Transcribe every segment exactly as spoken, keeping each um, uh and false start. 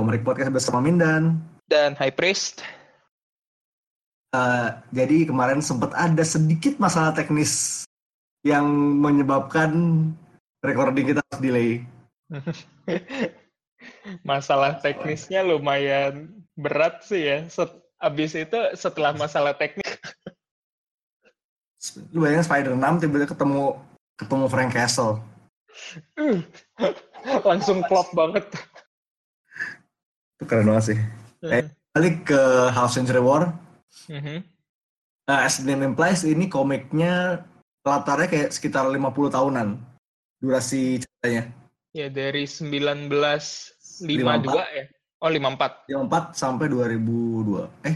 Komerik Podcast bersama Mindan dan High Priest. Uh, jadi kemarin sempat ada sedikit masalah teknis yang menyebabkan recording kita harus delay. Masalah teknisnya lumayan berat sih ya. Set- abis itu setelah masalah teknis. Lu bayangin Spider enam tiba-tiba ketemu ketemu Frank Castle. Uh, langsung klop banget. Itu keren banget sih. Uh. Eh, balik ke Half Century War. Uh-huh. Uh, as the name implies, ini komiknya latarnya kayak sekitar lima puluh tahunan durasi ceritanya. Ya dari sembilan belas lima puluh dua ya. Oh lima puluh empat. lima puluh empat sampai dua ribu dua. Eh.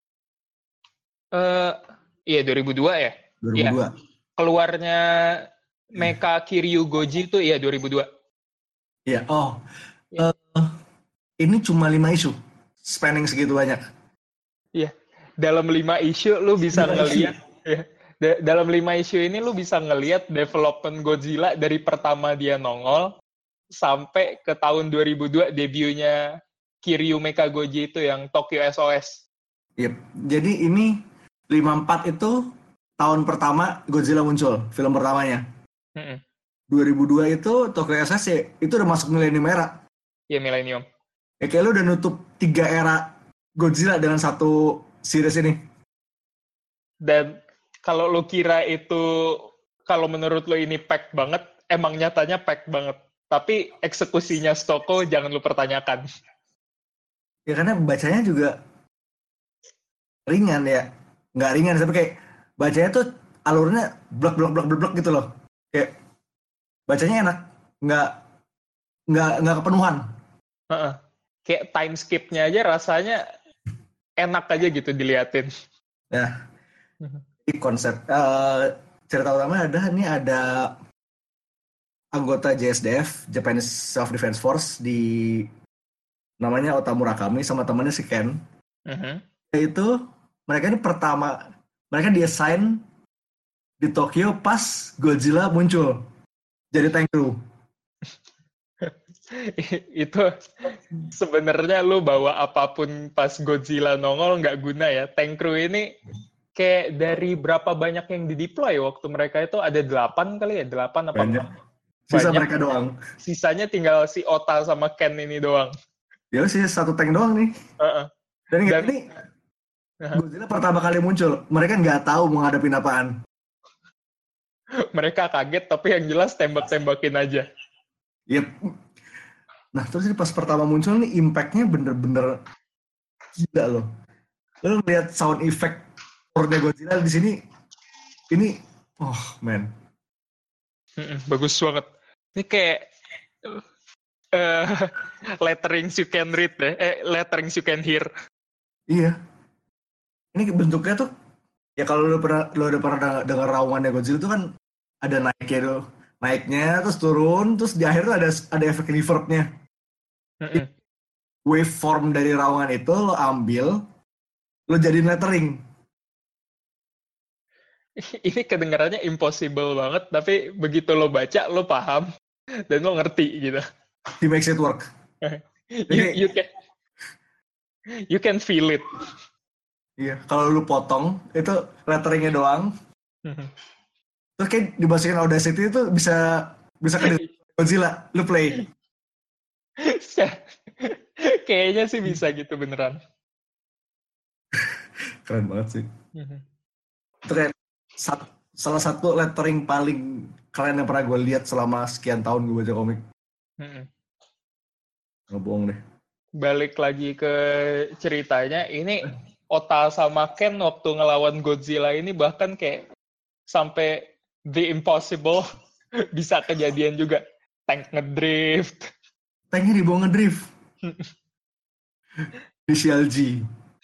Uh, iya dua ribu dua ya. dua ribu dua. Ya. Keluarnya Mecha Kiryu Goji itu ya dua ribu dua. Iya, oh. Ya. Uh, ini cuma lima isu. Spanning segitu banyak. Iya. Dalam lima isu lu bisa ngelihat ya. D- dalam lima isu ini lu bisa ngelihat development Godzilla dari pertama dia nongol sampai ke tahun dua ribu dua debutnya Kiryu Mecha Goji itu yang Tokyo S O S. Yep. Jadi ini lima puluh empat itu tahun pertama Godzilla muncul, film pertamanya. Mm-mm. dua ribu dua itu Tokyo S O S ya, itu udah masuk milenium era. Iya, milenium. Ya kayak lu udah nutup tiga era Godzilla dengan satu series ini. Dan kalau lu kira itu, kalau menurut lu ini pack banget, emang nyatanya pack banget. Tapi eksekusinya Stoko jangan lu pertanyakan. Ya karena bacanya juga ringan ya. Nggak ringan, tapi kayak bacanya tuh alurnya blok-blok-blok-blok gitu loh. Kayak bacanya enak. Nggak, nggak, nggak kepenuhan. Uh-uh. Kayak time skip-nya aja rasanya enak aja gitu diliatin. Ya, ini konsep. Uh, cerita utama ada, ini ada anggota J S D F, Japanese Self-Defense Force, di namanya Ota Murakami sama temannya si Ken. Uh-huh. Itu mereka ini pertama, mereka di-assign di Tokyo pas Godzilla muncul jadi tank crew. Itu sebenarnya lu bawa apapun pas Godzilla nongol nggak guna ya. Tank crew ini kayak dari berapa banyak yang dideploy waktu mereka itu ada delapan kali ya, delapan apa banyak. Sisa banyak. Mereka doang. Sisanya tinggal si Ota sama Ken ini doang. Ya sih satu tank doang nih. Uh-uh. Dan, Dan ini uh-huh. Godzilla pertama kali muncul, mereka nggak tahu mau ngadepin apaan. Mereka kaget tapi yang jelas tembak-tembakin aja. Yep. Nah terus ini pas pertama muncul nih impact-nya bener-bener gila loh. Lo ngeliat sound effect orangnya Godzilla di sini, ini, oh man, Mm-mm, bagus banget. Ini kayak uh, letterings you can read deh, eh, letterings you can hear. Iya. Ini bentuknya tuh, ya kalau lo pernah lo udah pernah dengar raungannya Godzilla tuh kan ada naiknya tuh, naiknya terus turun, terus di akhir tuh ada ada efek reverb-nya. Mm-mm. Waveform dari raungan itu lo ambil, lo jadiin lettering. Ini kedengarannya impossible banget, tapi begitu lo baca, lo paham, dan lo ngerti gitu. He makes it work. you, you can you can feel it. Iya, kalau lo potong, itu letteringnya doang. Terus kayak dimasukin Audacity itu bisa bisa ke Godzilla, lo play. Kayaknya sih bisa gitu beneran. Keren banget sih. Itu kayak Sat, salah satu lettering paling keren yang pernah gue lihat selama sekian tahun gue baca komik. Mm-hmm. Nggak bohong deh. Balik lagi ke ceritanya, ini Ota sama Ken waktu ngelawan Godzilla ini bahkan kayak sampai the impossible bisa kejadian juga. Tank ngedrift. Tanknya dibawa ngedrift. Inisial G.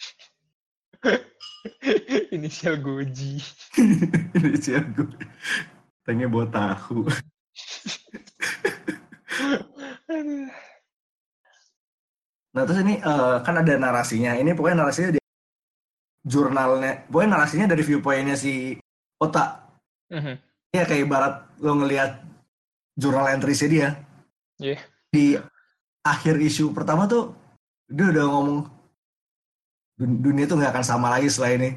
Inisial Goji. Inisial Goji. Tanknya bawa tahu. Nah terus ini uh, kan ada narasinya. Ini pokoknya narasinya di jurnalnya. Pokoknya narasinya dari viewpoint-nya si Ota. Uh-huh. Ya kayak ibarat lo ngelihat jurnal entries-nya dia. Yeah. Di akhir isu pertama tuh Dia udah ngomong dunia tuh nggak akan sama lagi setelah ini.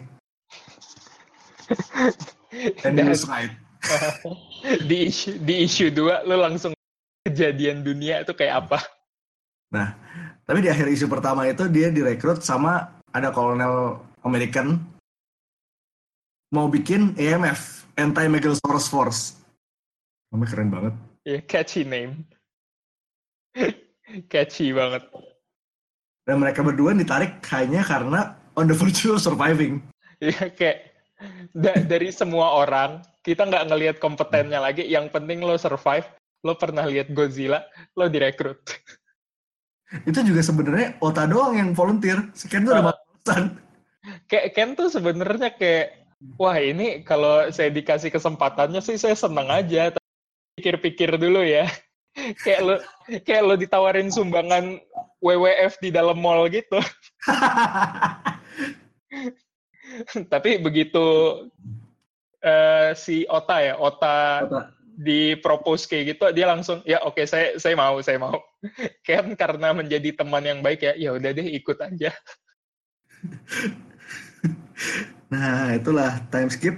And he Dan was right. di isu di isu dua lu langsung kejadian dunia itu kayak apa? Nah, tapi di akhir isu pertama itu dia direkrut sama ada kolonel American mau bikin A M F, Anti-Megalosaurus Force. Namanya keren banget. Ya, catchy name. Catchy banget. Dan mereka berdua ditarik hanya karena on the virtue of surviving. Ya kayak da- dari semua orang kita nggak ngelihat kompetennya lagi. Yang penting lo survive. Lo pernah lihat Godzilla, lo direkrut. Itu juga sebenarnya Ota doang yang volunteer. Si Ken tuh udah Uh, malas-malasan. kayak Ken tuh sebenarnya kayak, wah ini kalau saya dikasih kesempatannya sih saya seneng aja. Tapi pikir-pikir dulu ya. Kayak lo kayak lo ditawarin sumbangan W W F di dalam mall gitu. Tapi begitu uh, si Ota ya, Ota Ota. di propose kayak gitu, dia langsung ya oke okay, saya saya mau saya mau. Kan karena menjadi teman yang baik ya, ya udah deh ikut aja. Nah, itulah time skip.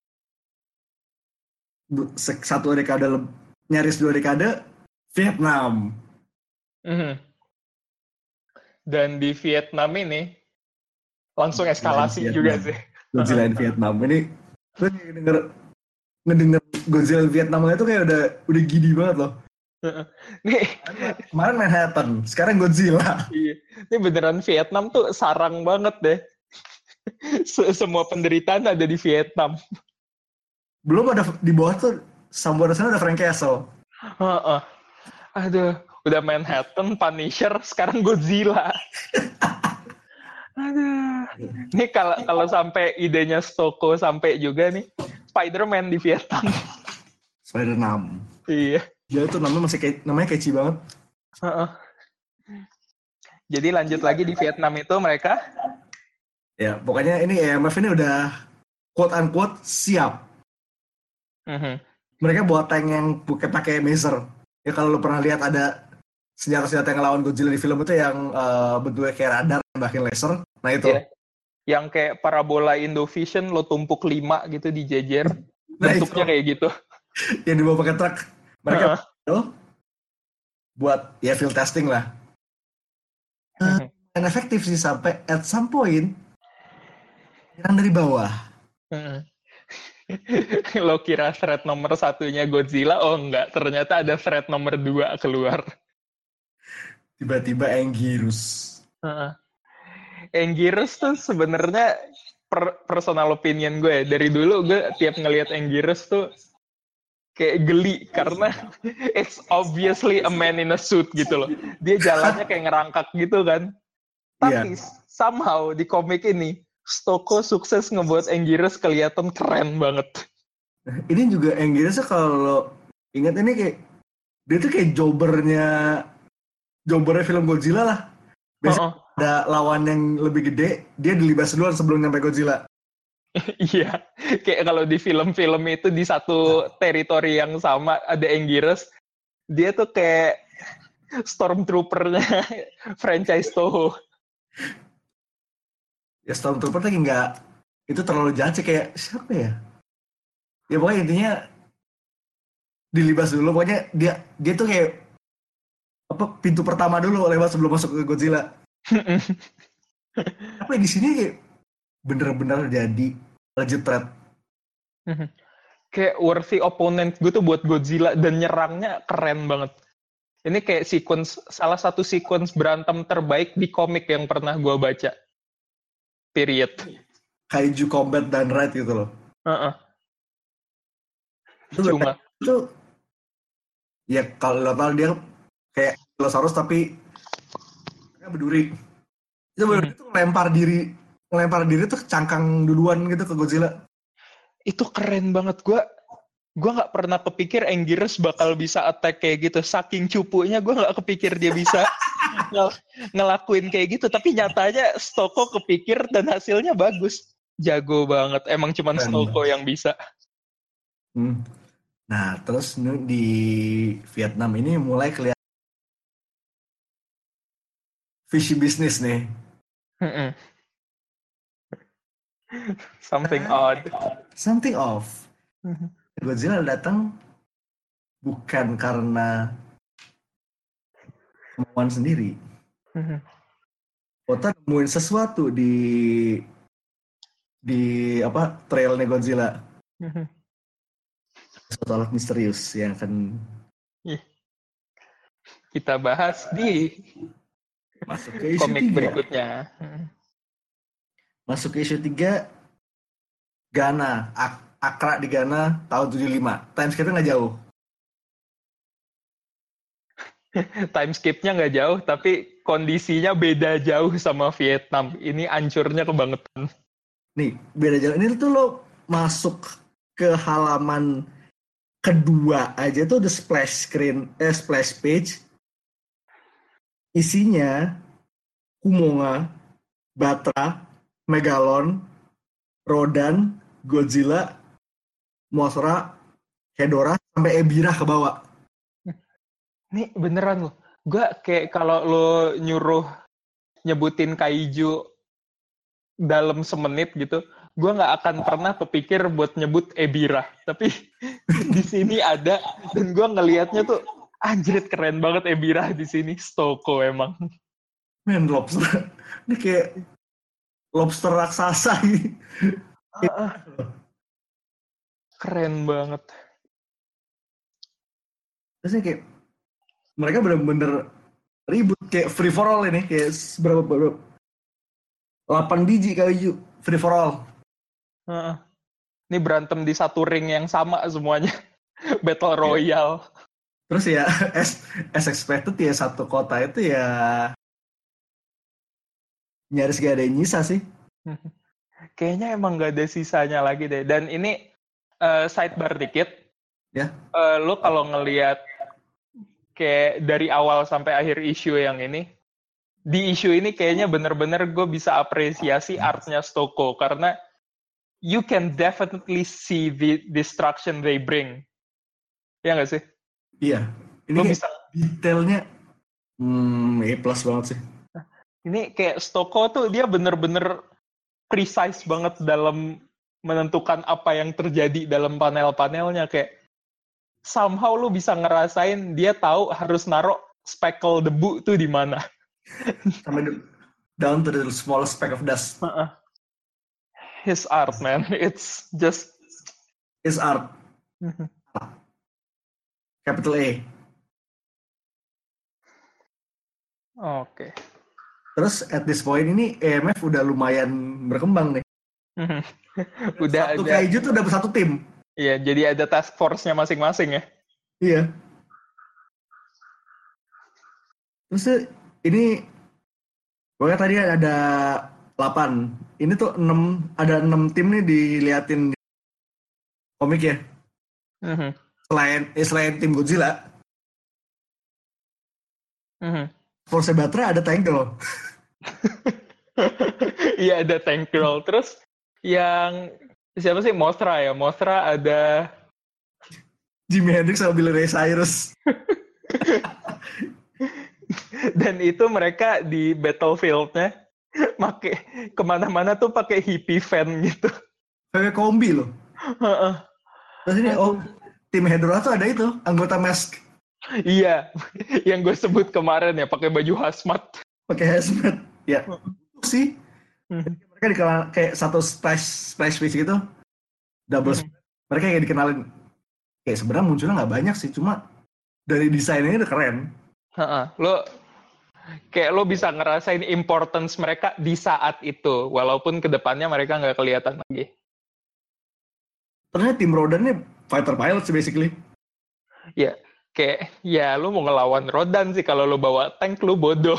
Satu dekade, nyaris dua dekade, Vietnam. Mm-hmm. Dan di Vietnam ini langsung eskalasi juga sih. Godzilla in Vietnam. Ini gue denger ngedenger Godzilla in Vietnam itu kayak udah udah gini banget loh. Nih, kemarin Manhattan, sekarang Godzilla. Iya. Ini beneran Vietnam tuh sarang banget deh. Semua penderitaan ada di Vietnam. Belum ada di bawah tuh, sambil sana ada Frank Castle. Uh-uh. Aduh, udah Manhattan, Punisher, sekarang Godzilla. Aduh. Ini kalau kalau sampai idenya Stoko sampai juga nih, Spider-Man di Vietnam. Spider-Man. Iya. Dia tuh namanya masih kayak, namanya catchy banget. Uh-uh. Jadi lanjut lagi di Vietnam itu mereka. Ya, pokoknya ini A M F ini udah quote-unquote siap. Uh-huh. Mereka buat tank yang bukan pakai maser. Ya kalau lo pernah lihat ada senjata-senjata yang ngelawan Godzilla di film itu yang uh, bentuknya kayak radar, bahkan laser. Nah itu. Yeah. Yang kayak parabola Indovision lo tumpuk lima gitu di jejer. Nah, bentuknya itu. Kayak gitu. Yang dibawa pakai truk. Mereka uh-uh. buat ya field testing lah. Uh, uh-huh. Dan efektif sih sampai at some point nyerang dari bawah. uh-uh. Lo kira threat nomor satunya Godzilla, oh enggak, ternyata ada threat nomor dua keluar. Tiba-tiba Anguirus. Uh-uh. Anguirus tuh sebenarnya per- personal opinion gue, dari dulu gue tiap ngelihat Anguirus tuh kayak geli karena it's obviously a man in a suit gitu loh. Dia jalannya kayak ngerangkak gitu kan. Tapi yeah. somehow di komik ini Stoko sukses ngebuat Anguirus kelihatan keren banget. Ini juga Anguirus kalau ingat ini kayak dia tuh kayak jobbernya jobbernya film Godzilla lah. Biasanya uh-uh. ada lawan yang lebih gede, dia dilibas duluan sebelum nyampe Godzilla. Iya, kayak kalau di film-film itu di satu teritori yang sama ada Anguirus, dia tuh kayak stormtrooper-nya franchise Toho. Ya stormtrooper lagi nggak, itu terlalu jahat sih, kayak siapa ya? Ya pokoknya intinya dilibas dulu, pokoknya dia dia tuh kayak apa pintu pertama dulu lewat sebelum masuk ke Godzilla. Tapi di sini kayak bener-bener jadi legit threat. Kayak worthy opponent gue tuh buat Godzilla dan nyerangnya keren banget. Ini kayak sequence, salah satu sequence berantem terbaik di komik yang pernah gue baca. Period. Kaiju Combat dan Ride gitu loh. Uh-uh. Itu Cuma itu ya kalau lo tau dia kayak dinosaurus tapi berduri. Itu bener mm-hmm. itu ngelempar diri, ngelempar diri tuh cangkang duluan gitu ke Godzilla. Itu keren banget. Gue gue nggak pernah kepikir Anguirus bakal bisa attack kayak gitu. Saking cupunya gue nggak kepikir dia bisa ngel- ngelakuin kayak gitu. Tapi nyatanya Stoko kepikir dan hasilnya bagus. Jago banget. Emang cuman Stoko yang bisa. Hmm. Nah, terus di Vietnam ini mulai kelihatan fishy business nih. Something odd. Something off. Godzilla datang bukan karena kemauan sendiri. Kota nemuin sesuatu di di apa trailnya Godzilla. Suatu alat misterius yang akan kita bahas di masuk ke issue komik tiga. berikutnya. Masuk ke issue tiga, Ghana, Ak- Accra di Ghana tahun tujuh puluh lima. Time skip-nya nggak jauh. Time skip-nya nggak jauh, tapi kondisinya beda jauh sama Vietnam. Ini ancurnya kebangetan. Nih, beda jauh. Ini tuh lo masuk ke halaman kedua aja tuh the splash screen, eh splash page. Isinya Kumonga, Batra, Megalon, Rodan, Godzilla, Mothra, Hedorah, sampai Ebirah ke bawah. Nih beneran loh. Gue kayak kalau lo nyuruh nyebutin kaiju dalam semenit gitu, gue nggak akan pernah kepikir buat nyebut Ebirah. Tapi di sini ada, dan gue ngelihatnya tuh, anjrit keren banget Ebirah di sini. Stoko emang. Men, lobster. Ini kayak lobster raksasa gitu. Uh, keren banget. Terusnya kayak mereka bener-bener ribut kayak free for all ini, kayak berapa berapa delapan biji kayu free for all. Uh, ini berantem di satu ring yang sama semuanya. Battle Royale. Terus ya as, as expected ya satu kota itu ya nyaris gak ada yang nyisa sih. Kayaknya emang gak ada sisanya lagi deh. Dan ini uh, sidebar dikit. Ya. Uh, lo kalau ngelihat kayak dari awal sampai akhir isu yang ini, di isu ini kayaknya bener-bener gue bisa apresiasi artnya Stoko karena you can definitely see the destruction they bring. Ya nggak sih? Iya. Ini lo kayak bisa detailnya hmm, A plus banget sih. Ini kayak Stoko tuh dia bener-bener precise banget dalam menentukan apa yang terjadi dalam panel-panelnya. Kayak somehow lu bisa ngerasain dia tahu harus naruh speckle debu tuh di mana. Sampai down to the smallest speck of dust. Uh-uh. His art, man. It's just his art. Capital A. Oke. Okay. Terus at this point ini E M F udah lumayan berkembang nih. Udah satu ada, kaiju tuh udah satu tim. Iya, jadi ada task force-nya masing-masing ya. Iya. Terus ini pokoknya tadi ada delapan. Ini tuh enam, ada enam tim nih diliatin di komik ya. Mm-hmm. Selain eh, selain tim Godzilla. Mm-hmm. Force Batra ada Tank Girl. Iya, ada Tank Girl. Terus yang siapa sih? Mothra ya. Mothra ada Jimi Hendrix sama Billy Ray Cyrus. Dan itu mereka di battlefield-nya make kemana-mana tuh pakai hippie fan gitu. Kayak kombi loh. Terus ini oh tim Hedorah tuh ada itu anggota Mask. Iya, yang gue sebut kemarin ya pakai baju hazmat. Pakai hazmat, ya. Sih. Hmm. Mereka dikenal kayak satu splash splash page gitu, double. Hmm. Mereka kayak dikenalin. Kayak sebenarnya munculnya nggak banyak sih, cuma dari desainnya udah keren. Ha-ha. Lo kayak lo bisa ngerasain importance mereka di saat itu, walaupun kedepannya mereka nggak kelihatan lagi. Ternyata tim Rodan ini fighter pilots basically. Ya, kayak ya lo mau ngelawan Rodan sih kalau lo bawa tank lo bodoh.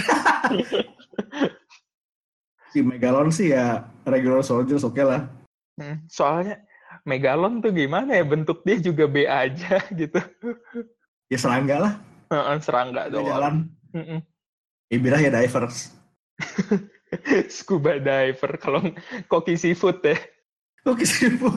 Si Megalon sih ya regular soldiers oke okay lah. Hmm, soalnya Megalon tuh gimana ya, bentuk dia juga B aja gitu. Ya serangga lah. Uh, serangga doang. Jalan. Mm-mm. Ibirah ya divers. Scuba diver, kalau Koki Seafood ya. Koki Seafood.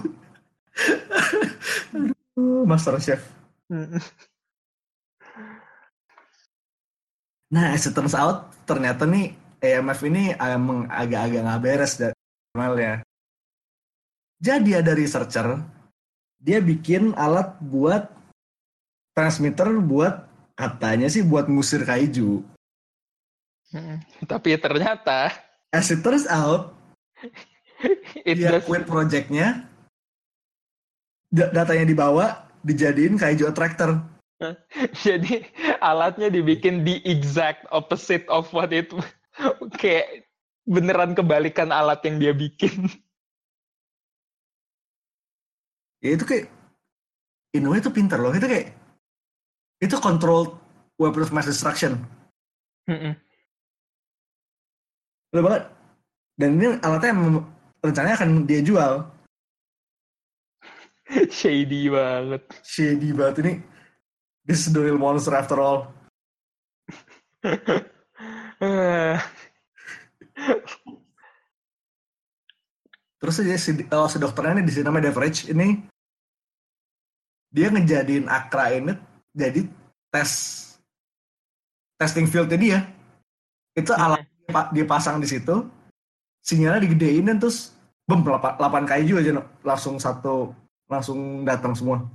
Master Chef. Nah, as it turns out, ternyata nih A M F ini emang agak-agak nggak beres dari ya. Jadi ada researcher, dia bikin alat buat transmitter buat katanya sih buat ngusir kaiju. Hmm, tapi ternyata As it turns out, it dia does. quit projectnya, da- datanya dibawa, dijadiin kaiju attractor. Jadi alatnya dibikin the exact opposite of what it kayak beneran kebalikan alat yang dia bikin. Ya itu kayak, in a way itu pinter loh. Itu kayak, itu controlled weapon of mass destruction. Betul banget. Dan ini alatnya yang rencananya akan dia jual. Shady banget. Shady banget ini. This is the real monster after all. Terus aja si, oh, si dokternya ini di sini namanya Devereaux ini, dia ngejadiin Akra ini jadi tes testing fieldnya dia. Itu alat dia pasang di situ, sinyalnya digedein dan terus bem delapan kaiju aja langsung satu langsung datang semua.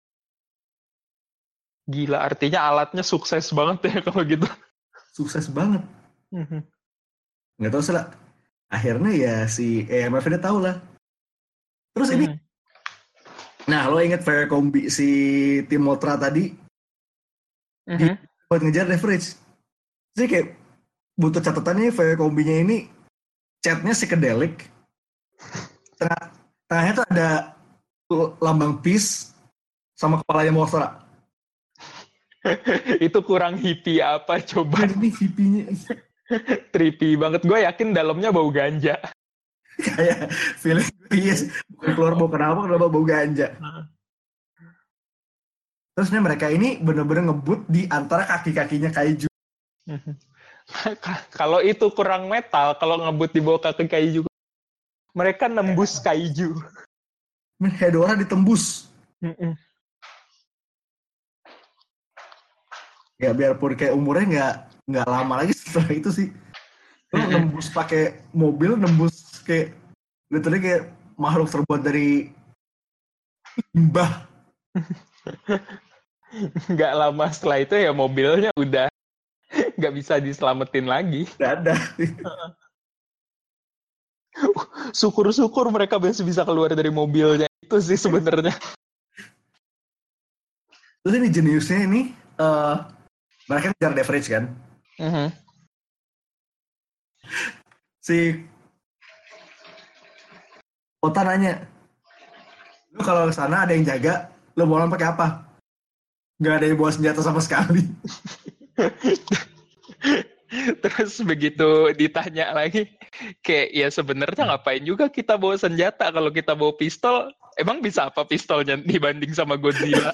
Gila, artinya alatnya sukses banget ya kalau gitu. Sukses banget. Nggak tahu sih lah. Akhirnya ya si A M F dia tahu lah. Terus ini, nah lo inget Fire Kombi si Tim Motra tadi, dia buat ngejar Leverage. Jadi kayak butuh catatannya Fire Kombinya ini chatnya psychedelic. Tengah, tengahnya tuh ada lambang peace sama kepalanya Mothra. Itu kurang hippie apa coba? Ini hippinya. Trippy banget. Gue yakin dalamnya bau ganja. Kayak feeling gue yes. Bukan keluar bau kenapa, kenapa bau ganja. Terus nih mereka ini bener-bener ngebut di antara kaki-kakinya kaiju. Kalau itu kurang metal, kalau ngebut di bawah kaki kaiju, mereka nembus kaiju. Hedora ditembus. Ya biarpun kayak umurnya nggak nggak lama lagi setelah itu sih. Lo nembus pakai mobil, nembus kayak literally kayak makhluk terbuat dari limbah. Nggak lama setelah itu ya mobilnya udah nggak bisa diselamatin lagi. Nggak ada. Syukur-syukur mereka masih bisa keluar dari mobilnya. Itu sih sebenarnya. Terus ini jeniusnya ini, uh, mereka ngejar Leverage kan? Uh-huh. Si Ota nanya, lu kalau ke sana ada yang jaga, lu mau pakai apa? Nggak ada yang bawa senjata sama sekali. Terus begitu ditanya lagi, kayak ya sebenarnya ngapain juga kita bawa senjata kalau kita bawa pistol? Emang bisa apa pistolnya dibanding sama Godzilla?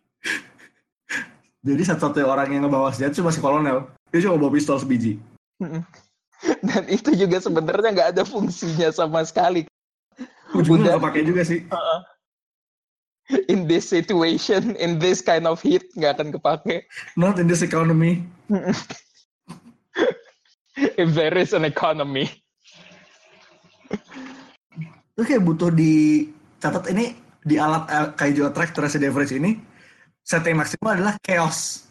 Jadi satu-satunya orang yang ngebawa senjata cuma si kolonel. Dia cuma bawa pistol sebiji. Dan itu juga sebenarnya nggak ada fungsinya sama sekali. Ujungnya nggak pakai juga sih. Uh, in this situation, in this kind of heat, nggak akan kepake. Not in this economy. If there is an economy. Itu kayak butuh dicatat ini di alat kaiju attractor si Leverage ini, setting maksimal adalah chaos.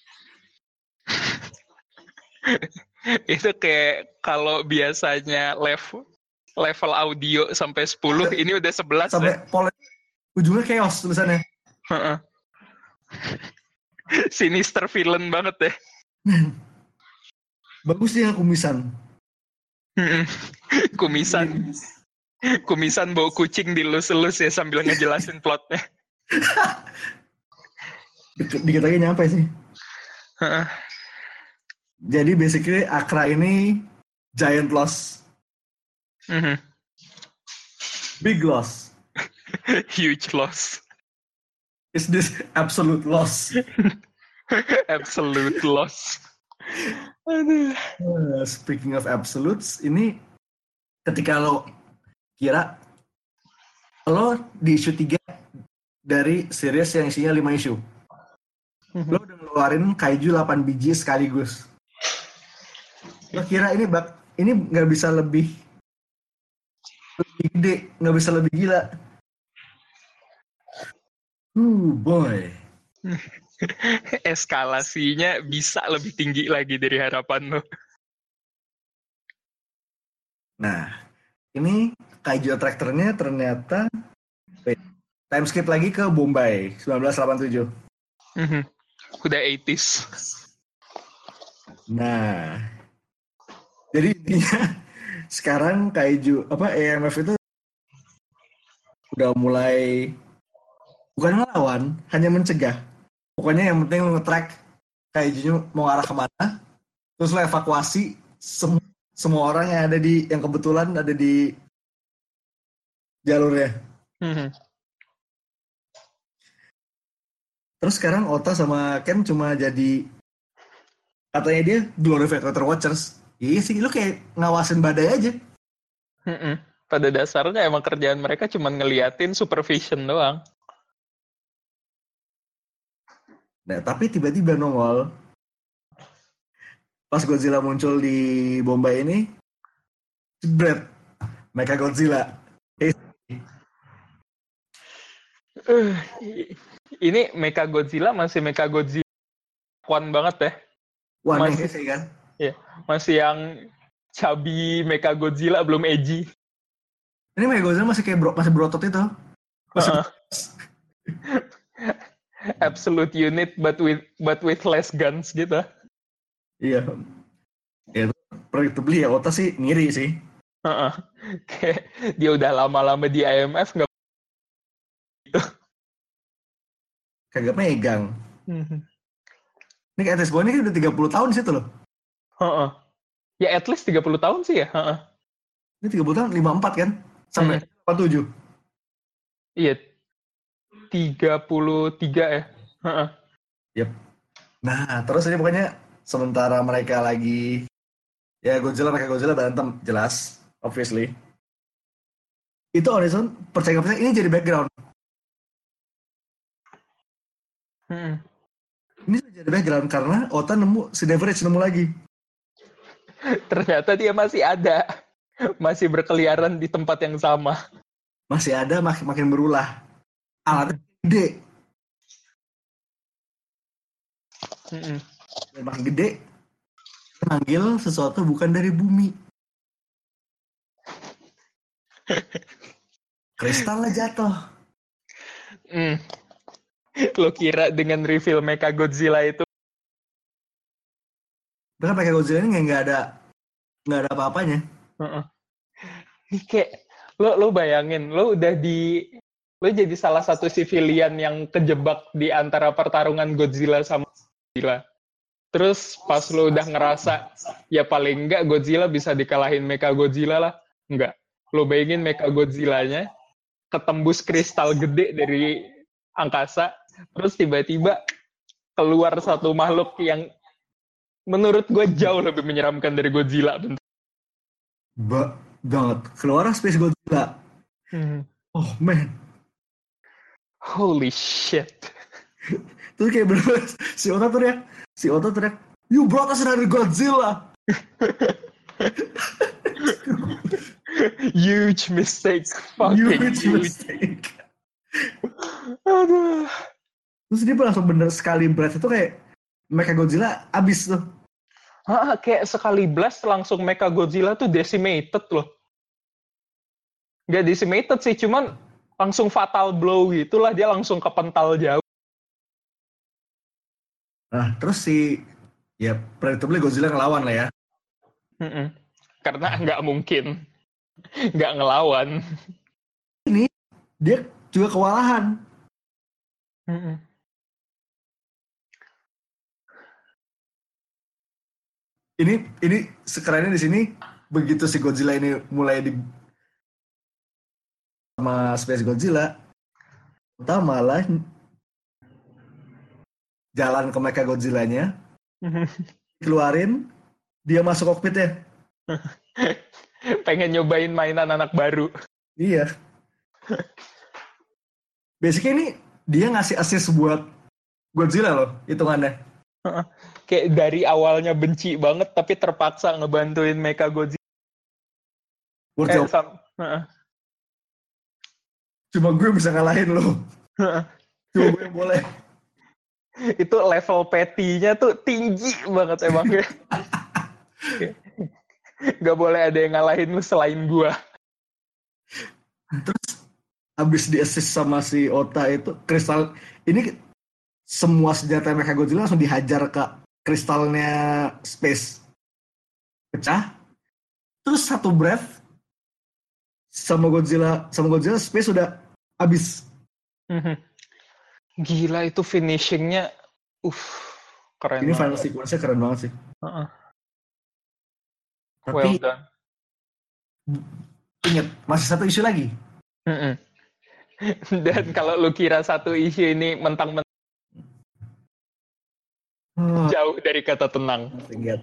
Itu kayak kalau biasanya level level audio sampai sepuluh, ini udah sebelas sampai ya? Pole, ujungnya chaos tulisannya. Sinister villain banget ya. Bagus sih ya kumisan. Kumisan. Kumisan bawa kucing dilus-lus ya sambil ngejelasin plotnya. Dikit lagi nyampe sih. Jadi basically Akra ini giant loss. Mm-hmm. Big loss. Huge loss. Is this absolute loss? Absolute loss. Aduh. Uh, speaking of absolutes, ini ketika lo kira lo di issue tiga dari series yang isinya lima issue, mm-hmm. lo udah ngeluarin kaiju delapan biji sekaligus. Lo kira ini bak ini nggak bisa lebih lebih gede, nggak bisa lebih gila. Uh boy. Eskalasinya bisa lebih tinggi lagi dari harapan lo. Nah, ini Kaiju Attractor-nya ternyata wait, time skip lagi ke Bombay sembilan belas delapan puluh tujuh. Mhm. Udah delapan puluhan. Nah, jadi intinya sekarang Kaiju apa A M F itu udah mulai bukan ngelawan, hanya mencegah. Pokoknya yang penting lo nge-track Kaijunya mau arah kemana, terus lo evakuasi sem- semua orang yang ada di yang kebetulan ada di jalurnya. Mhm. Terus sekarang Ota sama Ken cuma jadi katanya dia glorified water watchers. Iya sih, lu kayak ngawasin badai aja. Mhm. Pada dasarnya emang kerjaan mereka cuma ngeliatin supervision doang. Nah, tapi tiba-tiba nongol pas Godzilla muncul di Bombay ini, jebret, Mecha Godzilla. Eh, Uh, ini Mecha Godzilla masih Mecha Godzilla kuat banget ya. wah, Masih sih kan? ya, masih yang chubby Mecha Godzilla belum edgy. Ini Mecha Godzilla masih kayak bro, masih berotot itu. Masih Uh-uh. Absolute unit but with but with less guns gitu. iya. Ya, predictably ya Ota sih ngiri sih. Uh-uh. Kayak dia udah lama-lama di I M F nggak gitu. Kagak megang. Mhm. Ini kayak Atis Boy ini udah tiga puluh tahun di situ loh. Uh-uh. Ya at least tiga puluh tahun sih ya. Uh-uh. Ini tiga puluh tahun, lima puluh empat kan? Sampai Hmm. delapan puluh tujuh. Iya. tiga puluh tiga ya. Uh-uh. Yep. Nah, terus ini pokoknya sementara mereka lagi ya Godzilla pakai Godzilla berantem jelas, obviously. Itu Horizon percaya nggak percaya ini jadi background. Hmm. Ini jadi background karena Ota nemu si Leverage nemu lagi. Ternyata dia masih ada. Masih berkeliaran di tempat yang sama. Masih ada makin makin berulah. Alatnya gede. Mm-mm. Dan makin gede. Manggil sesuatu bukan dari bumi. Kristalnya jatuh. Mm. Lo kira dengan reveal Mecha Godzilla itu Bahkan pakai Godzilla ini nggak ada nggak ada apa-apanya. uh-uh. Kayak lo lo bayangin lo udah di lo jadi salah satu civilian yang kejebak di antara pertarungan Godzilla sama Godzilla. Terus pas lo udah ngerasa ya paling enggak Godzilla bisa dikalahin Mecha Godzilla lah. Enggak. Lo bayangin Mecha Godzillanya ketembus kristal gede dari angkasa, terus tiba-tiba keluar satu makhluk yang menurut gue jauh lebih menyeramkan dari Godzilla. Ba banget. Keluar Space Godzilla. Hmm. Oh man. Holy shit. Terus kayak bener si Ota teriak, si Ota teriak, you brought us another Godzilla. Huge mistake. Fucking huge, huge. mistake. Aduh. Terus dia langsung bener sekali blast itu kayak Mecha Godzilla abis tuh. Hah, kayak sekali blast langsung Mecha Godzilla tuh decimated loh. Gak decimated sih, cuman langsung fatal blow gitulah, dia langsung kepental jauh. Nah, terus si ya predictably Godzilla ngelawan lah ya. Mm-mm. Karena nggak mungkin nggak ngelawan. Ini dia juga kewalahan. Mm-mm. Ini ini sekerennya di sini begitu si Godzilla ini mulai di sama Space Godzilla, kita malah jalan ke Mecha Godzilla-nya, keluarin, dia masuk kokpit ya. Pengen nyobain mainan anak baru. Iya. Basically ini dia ngasih assist buat Godzilla loh, hitungannya. Kayak dari awalnya benci banget tapi terpaksa ngebantuin Mechagodzilla. Eh, sam- Cuma gue bisa ngalahin lo. Cuma gue yang boleh. Itu level petty-nya tuh tinggi banget emang ya. Gak boleh ada yang ngalahin lu selain gue. Terus abis di assist sama si Ota itu kristal ini semua senjata Mechagodzilla langsung dihajar ke kristalnya space, pecah. Terus satu breath sama Godzilla sama Godzilla space udah habis. Gila itu finishingnya, uh keren. Ini banget. final sequence-nya keren banget sih. Uh-uh. Tapi Well done. Ingat masih satu isu lagi. Mm-mm. Dan kalau lu kira satu isu ini mentang-mentang Oh, jauh dari kata tenang. ingat.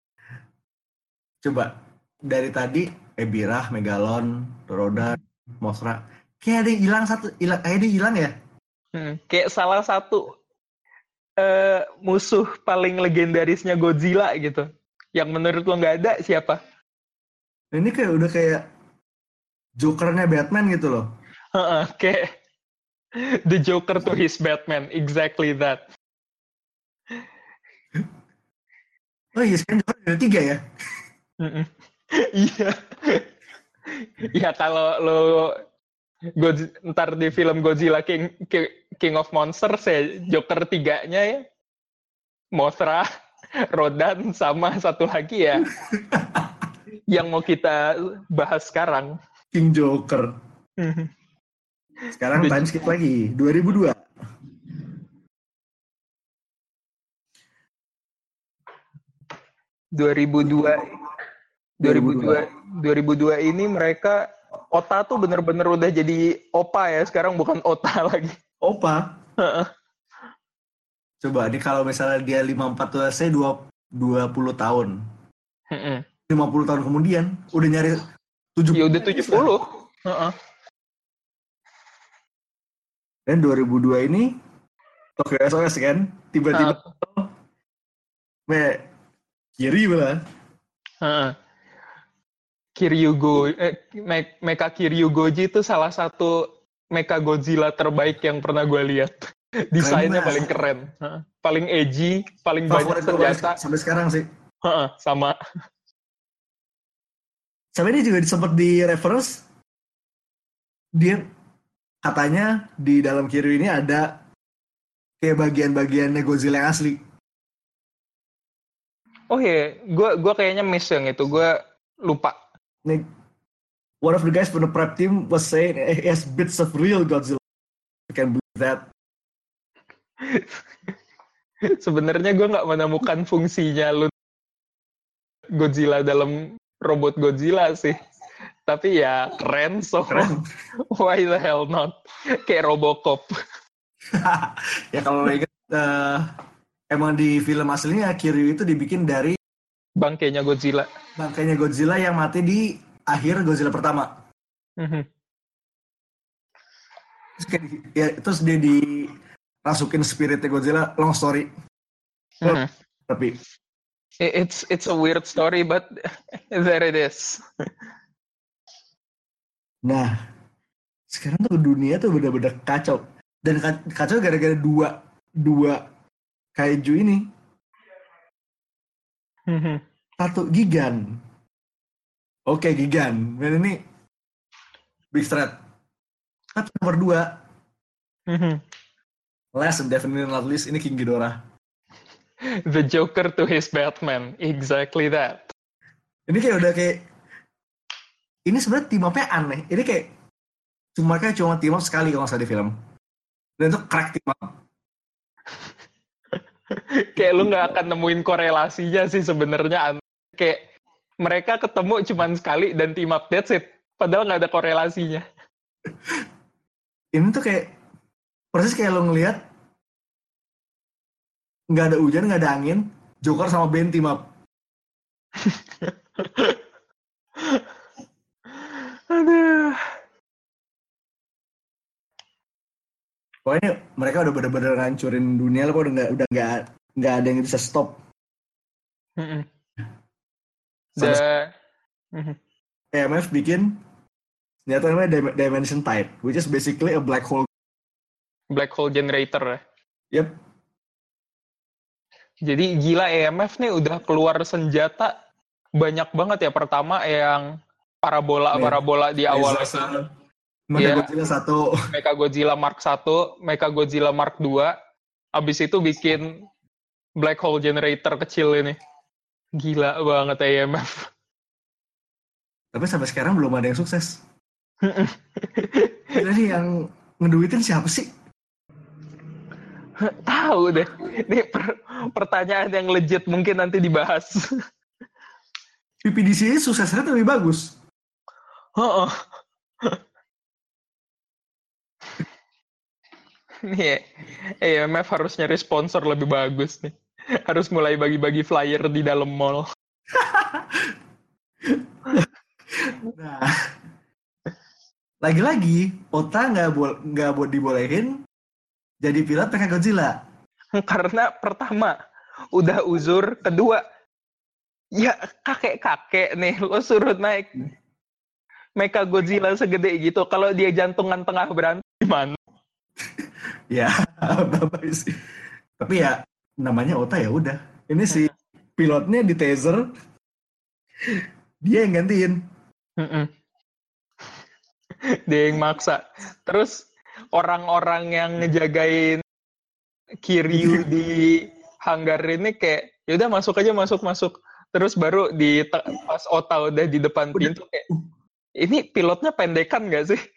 Coba dari tadi Ebirah, Megalon, Rodan, Mothra, kayak ada yang hilang satu, hilang, kayak ada yang hilang ya. Hmm, kayak salah satu uh, musuh paling legendarisnya Godzilla gitu. Yang menurut lo nggak ada siapa? Ini kayak udah kayak Jokernya Batman gitu loh. Uh-uh, kayak the Joker to his Batman, exactly that. Oh iya, sekarang Joker ada tiga ya. Iya. Ya kalau lo God, ntar di film Godzilla King King of Monsters ya Joker tiganya ya Mothra, Rodan sama satu lagi ya yang mau kita bahas sekarang King Joker. Sekarang time skip lagi dua ribu dua. dua ribu dua dua ribu dua dua ribu dua ini mereka Ota tuh bener-bener udah jadi Opa ya sekarang bukan Ota lagi. Opa. Coba nih kalau misalnya dia lima puluh empat tuh saya dua puluh tahun. lima puluh tahun kemudian udah nyari tujuh puluh. Ya udah tujuh puluh. Heeh. Dan dua ribu dua ini Tokyo S O S kan tiba-tiba uh. me kiri malah. Heeh. Kiryugo eh, Me- Mecha Kiryugoji itu salah satu Mecha Godzilla terbaik yang pernah gue lihat. Desainnya paling keren, uh, paling edgy, paling favorit banyak senjata. Sampai sekarang sih. Uh, sama. Sampai ini juga sempat di reference dia katanya di dalam Kiryu ini ada kayak bagian-bagiannya Godzilla yang asli. Oh iya, gue gue kayaknya miss yang itu, gue lupa. Nih, one of the guys from the prep team was saying he has bits of real Godzilla. You can believe that. Sebenarnya gue nggak menemukan fungsinya lu Godzilla dalam robot Godzilla sih. Tapi ya keren, so keren. Why the hell not? Kayak Robocop. Ya kalau lo ingat, uh, emang di film aslinya Kiryu itu dibikin dari bangkainya Godzilla. Bangkainya Godzilla yang mati di akhir Godzilla pertama. Mm-hmm. Terus, kayak, ya, terus dia dirasukin spiritnya Godzilla, long story. Mm-hmm. Tapi it's it's a weird story, but there it is. Nah, sekarang tuh dunia tuh bener-bener kacau. Dan kacau gara-gara dua dua kaiju ini. Mm-hmm. Satu Gigan. Oke, okay, Gigan. Dan ini big threat. Satu nomor dua. Mm-hmm. Last and definitely not least, ini King Ghidorah. The Joker to his Batman. Exactly that. Ini kayak udah kayak ini sebenarnya team up-nya aneh. Ini kayak cuma kayak cuma team up sekali kalau nggak salah di film. Dan itu crack team up. Kayak lu nggak akan nemuin korelasinya sih sebenarnya. Kayak mereka ketemu cuma sekali dan team up, that's it. Padahal nggak ada korelasinya. Ini tuh kayak persis kayak lo ngelihat nggak ada hujan, nggak ada angin, Joker sama Bane team up. Aduh. Pokoknya mereka udah bener-bener ngancurin dunia lah, udah nggak udah nggak nggak ada yang bisa stop. Mm-mm. Sampai The... Mhm. E M F bikin senjata namanya Dim- Dimension Tide, which is basically a black hole. Black hole generator ya. Yep. Jadi gila E M F nih udah keluar senjata banyak banget ya. Pertama yang parabola-parabola di awal itu. Mechagodzilla satu. Mechagodzilla Mark satu, Mechagodzilla Mark dua. Abis itu bikin black hole generator kecil ini. Gila banget E M F. Tapi sampai sekarang belum ada yang sukses. Jadi yang ngeduitin siapa sih? Tahu deh. Ini per- pertanyaan yang legit mungkin nanti dibahas. P P D C sukses rate lebih bagus. Oh, oh. Nih E M F harus nyari sponsor lebih bagus nih. Harus mulai bagi-bagi flyer di dalam mall. Nah, lagi-lagi Ota nggak bo- nggak bo- dibolehin jadi pilot Mechagodzilla. Karena pertama udah uzur, kedua ya kakek-kakek nih lo suruh naik Mechagodzilla segede gitu. Kalau dia jantungan tengah berantem gimana? Ya, bapak sih. Tapi ya namanya Ota ya udah. Ini si pilotnya di taser, dia yang gantiin. Mm-mm. Dia yang maksa. Terus orang-orang yang ngejagain Kiryu di hanggar ini kayak yaudah masuk aja masuk masuk. Terus baru di pas Ota udah di depan pintu kayak ini pilotnya pendekan nggak sih?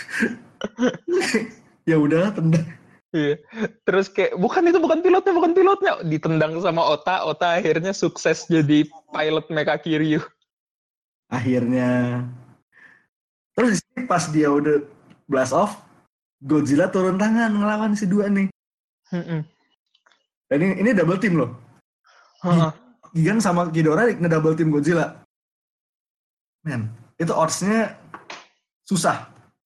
Ya udah tendang. Iya. Terus kayak bukan itu bukan pilotnya bukan pilotnya ditendang sama Ota. Ota akhirnya sukses jadi pilot Mecha Kiryu. Akhirnya. Terus di sini pas dia udah blast off, Godzilla turun tangan ngelawan si dua nih. Mm-mm. Dan ini, ini double team loh. Uh-uh. Gigan sama Ghidorah nge-double team Godzilla. Men, itu odds-nya susah.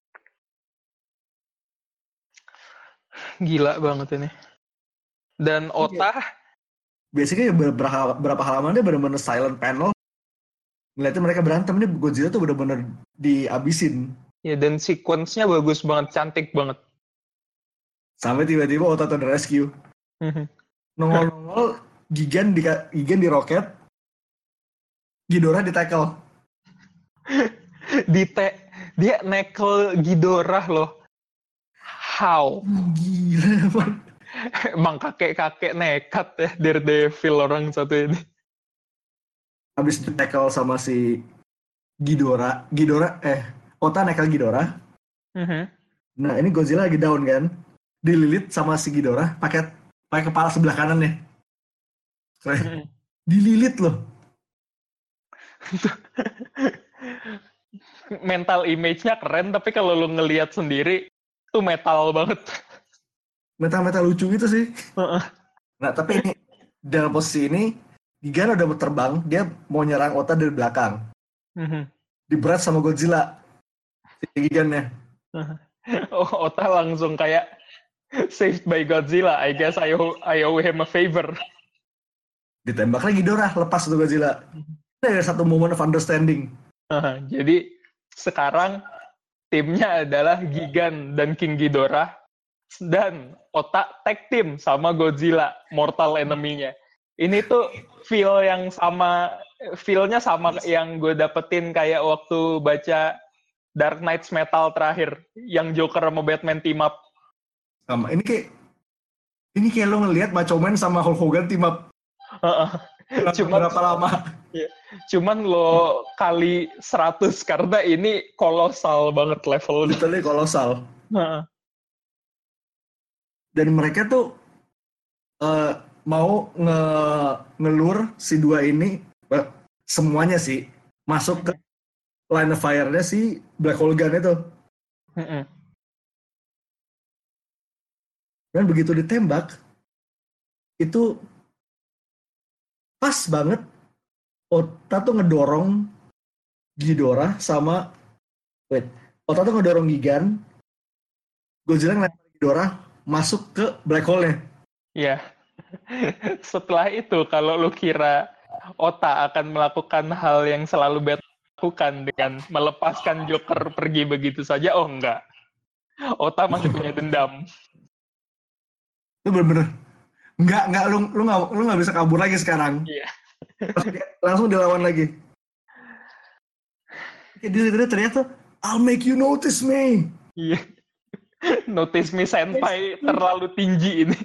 Gila banget ini. Dan Ota biasanya berapa, berapa halaman dia benar-benar silent panel. Ngeliatnya mereka berantem, nih Godzilla tuh benar-benar diabisin. Ya dan sequence-nya bagus banget, cantik banget. Sampai tiba-tiba Ota to the rescue. Nongol-nongol, Gigan di Gigan di roket, Ghidorah di tackle. di te dia nekel Ghidorah loh. How? Gila emang. Emang kakek-kakek nekat ya Daredevil orang satu ini. Habis di tackle sama si Ghidorah, Ghidorah eh Ota nekel Ghidorah. Uh-huh. Nah ini Godzilla lagi down kan, dililit sama si Ghidorah pakai pakai kepala sebelah kanan nih. Uh-huh. Dililit loh. Mental image-nya keren tapi kalau lu ngelihat sendiri tuh metal banget. Metal-metal lucu gitu sih. Uh-uh. Nah tapi ini dalam posisi ini Gigan udah terbang, dia mau nyerang Ota dari belakang. Uh-huh. Diberat sama Godzilla. Si Gigannya. Uh-huh. Oh, Ota langsung kayak saved by Godzilla. I guess I owe, I owe him a favor. Ditembak lagi Ghidorah, lepas tuh Godzilla. Ada satu moment of understanding. Uh, jadi sekarang timnya adalah Gigan dan King Ghidorah dan Ota tag team sama Godzilla, mortal enemy-nya. Ini tuh feel yang sama, feel-nya sama yang gue dapetin kayak waktu baca Dark Knights Metal terakhir, yang Joker sama Batman team up. Sama, ini kayak ini kayak lo ngelihat Macho Man sama Hulk Hogan team up. Uh-uh. Cuman, berapa lama? Ya, cuman lo kali seratus karena ini kolosal banget levelnya. Literally kolosal. Uh-uh. Dan mereka tuh uh, mau nge ngelur si dua ini uh, semuanya sih masuk ke line of fire-nya si Black Hole Gun itu. Uh-uh. Dan begitu ditembak itu pas banget Ota tuh ngedorong Ghidorah sama wait, Ota tuh ngedorong Gigan, Godzilla ngelempar Ghidorah masuk ke black hole-nya. Iya. Yeah. Setelah itu, kalau lu kira Ota akan melakukan hal yang selalu Batman lakukan dengan melepaskan Joker pergi begitu saja, oh enggak. Ota masih punya dendam. Itu bener-bener nggak nggak lu lu nggak lu nggak bisa kabur lagi sekarang. Iya. Langsung dilawan lagi. Jadi ternyata I'll make you notice me. Iya. Notice me senpai terlalu tinggi ini.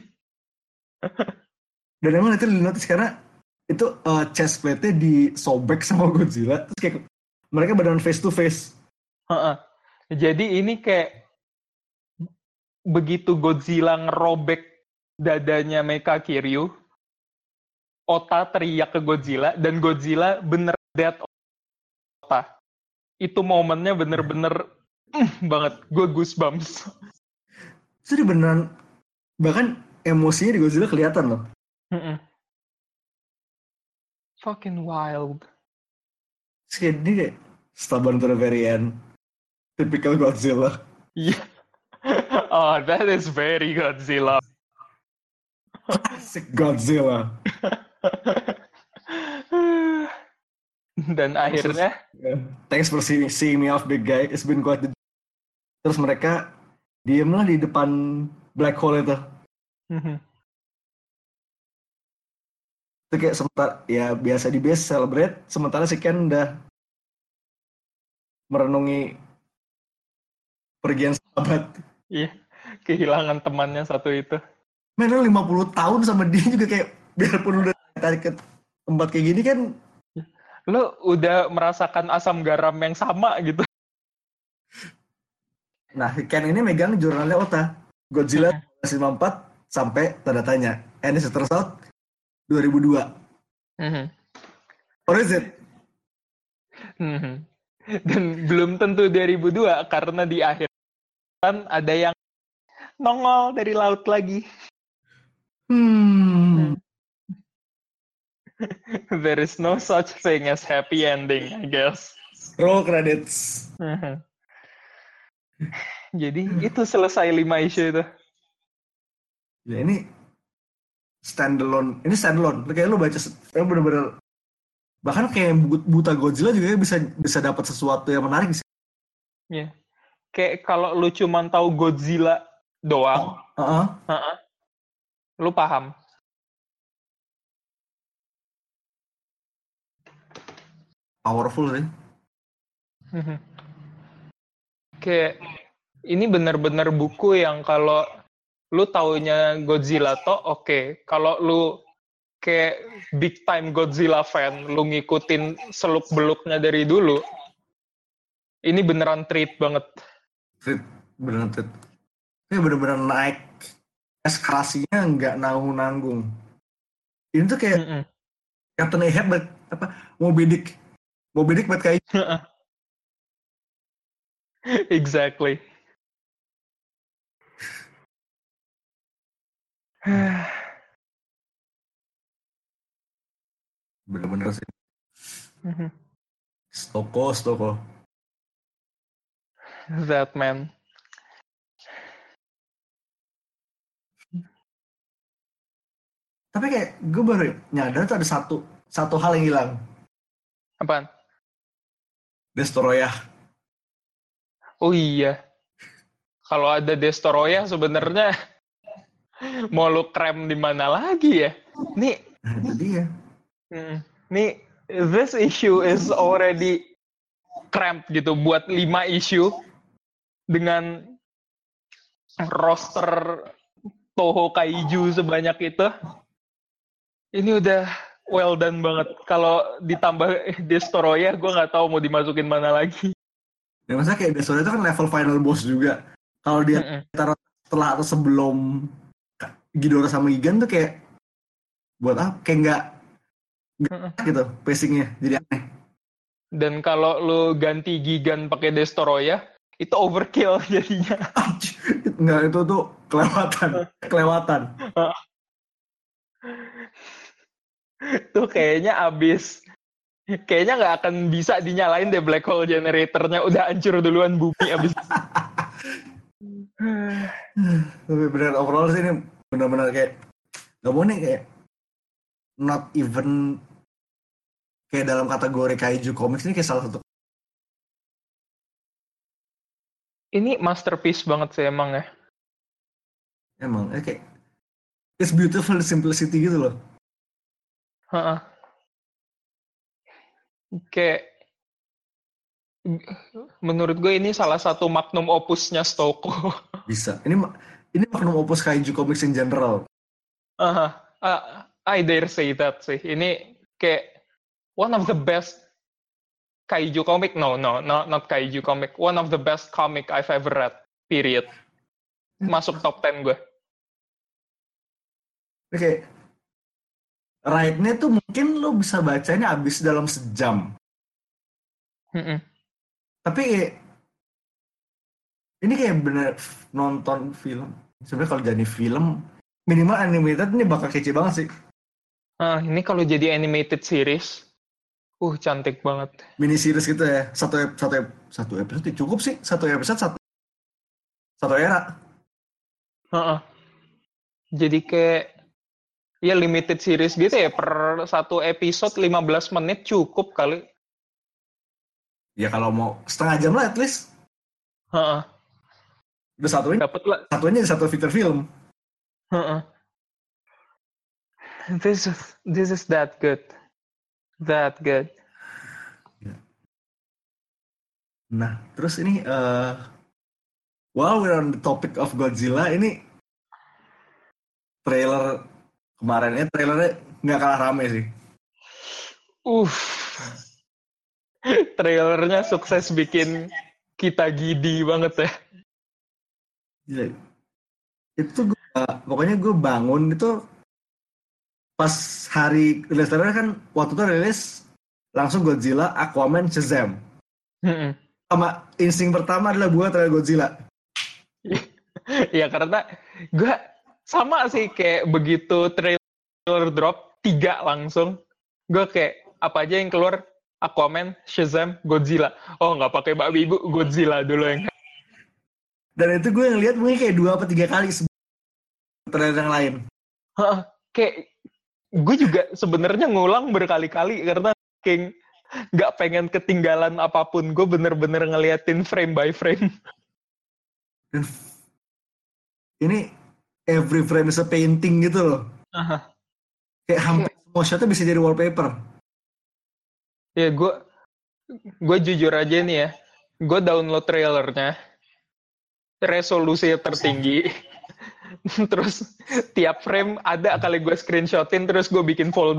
Dan emang itu di-notice karena itu uh, chest plate-nya disobek sama Godzilla. Terus kayak mereka beneran face to face. Uh-uh. Jadi ini kayak begitu Godzilla ngerobek dadanya Mecha Kiryu, Ota teriak ke Godzilla, dan Godzilla bener dead Ota. Itu momennya bener-bener mm, banget. Gue goosebumps. Jadi beneran, bahkan emosinya di Godzilla kelihatan loh. Mm-mm. Fucking wild. Terus kayak ini kayak stubborn to the very end. Typical Godzilla. Yeah. Oh, that is very Godzilla. Classic Godzilla. Dan akhirnya yeah. Thanks for seeing, seeing me off, big guy. It's been quite the... Terus mereka diem lah di depan black hole itu. mm-hmm. Itu kayak sementara ya biasa di base celebrate, sementara si Ken udah merenungi pergian sahabat. Iya, kehilangan temannya satu itu. Men, lu lima puluh tahun sama dia juga kayak biarpun udah tarik ke tempat kayak gini kan. Lu udah merasakan asam garam yang sama gitu. Nah, Ken ini megang jurnalnya Ota. Godzilla seribu sembilan ratus lima puluh empat sampai tanda tanya. And it turns out dua ribu dua. Mm-hmm. Or is it? Mm-hmm. Dan belum tentu dua ribu dua karena di akhir kan ada yang nongol dari laut lagi. Hmm. There is no such thing as happy ending, I guess. Roll credits. Mm-hmm. Jadi itu selesai lima isu itu. Ya ini standalone. Ini standalone. Kayak lu baca, kayak bener-bener bahkan kayak buta Godzilla juga bisa bisa dapat sesuatu yang menarik sih. Iya. Yeah. Kayak kalau lu cuma tahu Godzilla doang, oh, uh-uh. Uh-uh, lu paham. Powerful sih. Kayak ini benar-benar buku yang kalau lu taunya Godzilla toh oke, okay. Kalau lu kayak big time Godzilla fan, lu ngikutin seluk-beluknya dari dulu, ini beneran treat banget. Treat, beneran treat. Ini bener-bener naik eskalasinya nggak nanggung-nanggung. Ini tuh kayak Mm-mm. Captain Ahab apa Moby Dick, Moby Dick buat kayak. Exactly. Bener-bener sih. Mm-hmm. Stoko, Stoko. That man. Tapi kayak gue baru nyadar tuh ada satu satu hal yang hilang. Apaan? Destoroyah. Oh iya. Kalau ada Destoroyah sebenarnya mau lu krem di mana lagi ya? Nih. Nah, itu dia. Hmm, nih, this issue is already cramped gitu buat lima issue dengan roster Toho Kaiju sebanyak itu. Ini udah well done banget. Kalau ditambah Destoroyah, gue nggak tahu mau dimasukin mana lagi. Ya masa kayak Destoroyah itu kan level final boss juga. Kalau dia Mm-mm. taruh setelah atau sebelum Ghidorah sama Gigan tuh kayak buat apa? Kayak nggak gitu pacingnya jadi aneh. Dan kalau lu ganti Gigan pakai Destoroyah itu overkill jadinya. Nggak, itu tuh kelewatan kelewatan tuh kayaknya abis kayaknya nggak akan bisa dinyalain deh black hole generatornya, udah hancur duluan bumi abis. Tapi benar overall sih ini benar-benar kayak Gak mau nih kayak not even kayak dalam kategori kaiju comics ini kayak salah satu. Ini masterpiece banget sih emang ya. Emang eh, kayak it's beautiful simplicity gitu loh. Heeh. Kayak menurut gue ini salah satu magnum opusnya Stoko. Bisa. Ini ini magnum opus kaiju comics in general. Uh, uh, I dare say that sih. Ini kayak one of the best kaiju comic. No, no, no, not kaiju comic. One of the best comic I've ever read. Period. Masuk top ten gue. Oke. Ride-nya tuh mungkin lo bisa bacanya habis dalam sejam. Mm-mm. Tapi ini kayak bener nonton film. Sebenarnya kalau jadi film minimal animated ini bakal kece banget sih. Ah, ini kalau jadi animated series, uh cantik banget. Mini series gitu ya. Satu satu satu episode cukup sih. Satu episode satu satu era. Uh-uh. Jadi kayak ya limited series gitu ya, per satu episode lima belas menit cukup kali. Ya kalau mau setengah jam lah at least. Uh-uh. Udah satunya. Dapat lah. Satunya di satu feature film. Uh-uh. This is this is that good. That good. Nah, terus ini uh, while we're on the topic of Godzilla, ini trailer kemarin ya, trailernya nggak kalah rame sih. Uh. Trailernya sukses bikin kita gidi banget ya. Gila. Itu gue, pokoknya gue bangun itu pas hari rilis trailer kan, waktu itu rilis langsung Godzilla, Aquaman, Shazam. Mm-mm. Sama insting pertama adalah buat trailer Godzilla. Ya karena gue sama sih kayak begitu trailer drop tiga langsung, gue kayak apa aja yang keluar Aquaman, Shazam, Godzilla. Oh nggak pakai babi ibu, Godzilla dulu yang. Dan itu gue ngeliat mungkin kayak dua atau tiga kali trailer yang lain. Hah, kayak gue juga sebenarnya ngulang berkali-kali karena kayak nggak pengen ketinggalan apapun. Gue bener-bener ngeliatin frame by frame. Dan ini every frame is a painting gitu loh. Uh-huh. Kayak hampir semua shotnya bisa jadi wallpaper. Ya gue gue jujur aja nih ya, gue download trailernya, resolusi tertinggi, terus tiap frame ada kali gue screenshotin, terus gue bikin folder.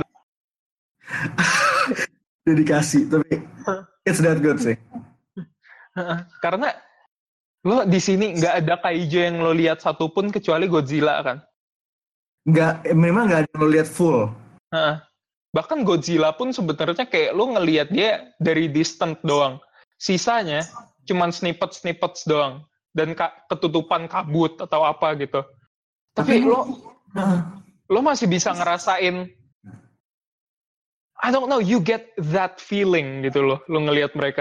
Dedikasi, tapi it's that good sih. Karena lo di sini nggak ada kaiju yang lo lihat satupun kecuali Godzilla kan? Nggak, memang nggak ada lo lihat full. Bahkan Godzilla pun sebenarnya kayak lo ngelihat dia dari distant doang. Sisanya cuman snippet-snippets doang. Dan ka- ketutupan kabut atau apa gitu. Tapi, Tapi lo uh, lo masih bisa ngerasain, I don't know, you get that feeling gitu loh, lo ngelihat mereka.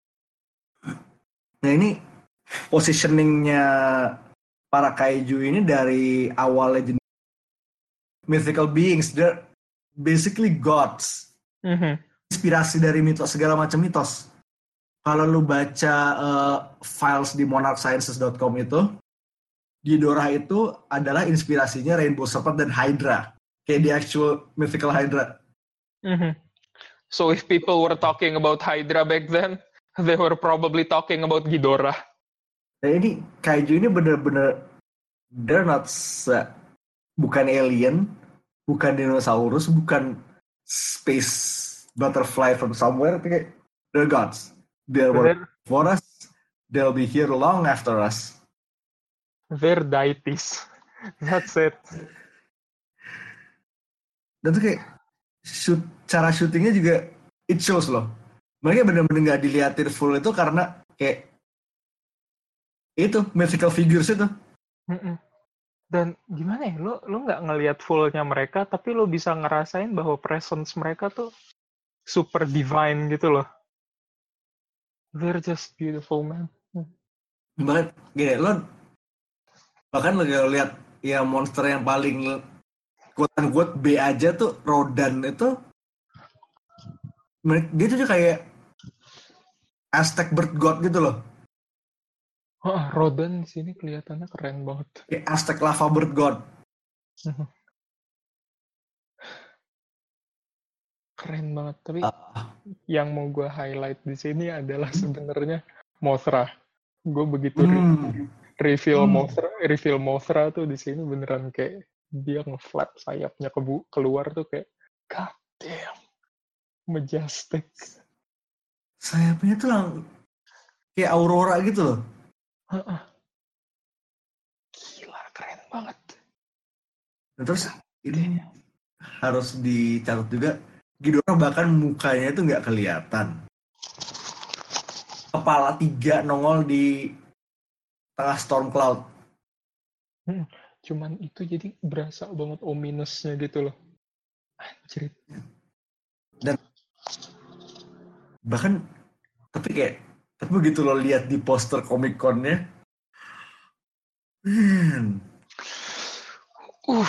Nah ini positioningnya para kaiju ini dari awal legend mythical beings, they're basically gods. Mm-hmm. Inspirasi dari mitos, segala macam mitos. Kalau lu baca uh, files di monarch sciences dot com itu, Ghidorah itu adalah inspirasinya Rainbow Serpent dan Hydra. Kayak the actual mythical Hydra. Mm-hmm. So if people were talking about Hydra back then, they were probably talking about Ghidorah. Nah ini, kaiju ini bener-bener, they're not, uh, bukan alien, bukan dinosaurus, bukan space butterfly from somewhere, tapi they're gods. They're working for us, they'll be here long after us. They're deities. That's it. Dan tuh kayak shoot, cara syutingnya juga it shows loh. Mereka benar-benar nggak diliatin full itu karena kayak itu mythical figures itu. Mm-mm. Dan gimana ya, lo lo nggak ngelihat fullnya mereka, tapi lo bisa ngerasain bahwa presence mereka tuh super divine gitu loh. They're just beautiful, man. Bahkan gini, lo bahkan lo lihat ya monster yang paling quote-unquote B aja tuh Rodan itu dia tuh kayak Aztec bird god gitu loh. Oh, Rodan di sini kelihatannya keren banget. Kayak Aztec lava bird god. Keren banget. Tapi Uh, yang mau gue highlight di sini adalah sebenarnya Mothra. Gue begitu re- hmm. reveal Hmm. Mothra, reveal Mothra tuh di sini beneran kayak dia nge-flap sayapnya kebu- keluar tuh kayak god damn, majestic. Sayapnya tuh lang kayak aurora gitu loh. Gila, keren banget. Nah, terus ini harus dicatat juga, Ghidorah bahkan mukanya itu nggak kelihatan. Kepala tiga nongol di tengah storm cloud. Hmm, cuman itu jadi berasa banget ominousnya gitu loh. Anjir. Dan bahkan tapi kayak tapi begitu lo lihat di poster Comic Con-nya, man. Uh.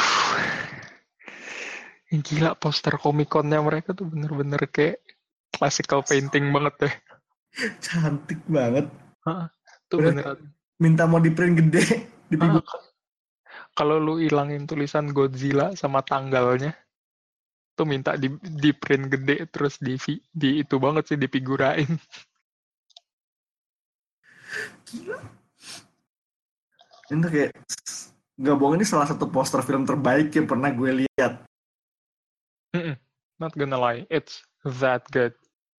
Gila, poster Comic-Con-nya mereka tuh bener-bener kayak classical painting banget deh. Cantik banget. Hah, tuh Udah beneran. minta mau di print gede di Hah, figur. kalau lu ilangin tulisan Godzilla sama tanggalnya, tuh minta di, di print gede terus di, di itu banget sih dipigurain. Gila. Ini kayak nggak bohong, ini salah satu poster film terbaik yang pernah gue lihat. Not gonna lie, it's that good.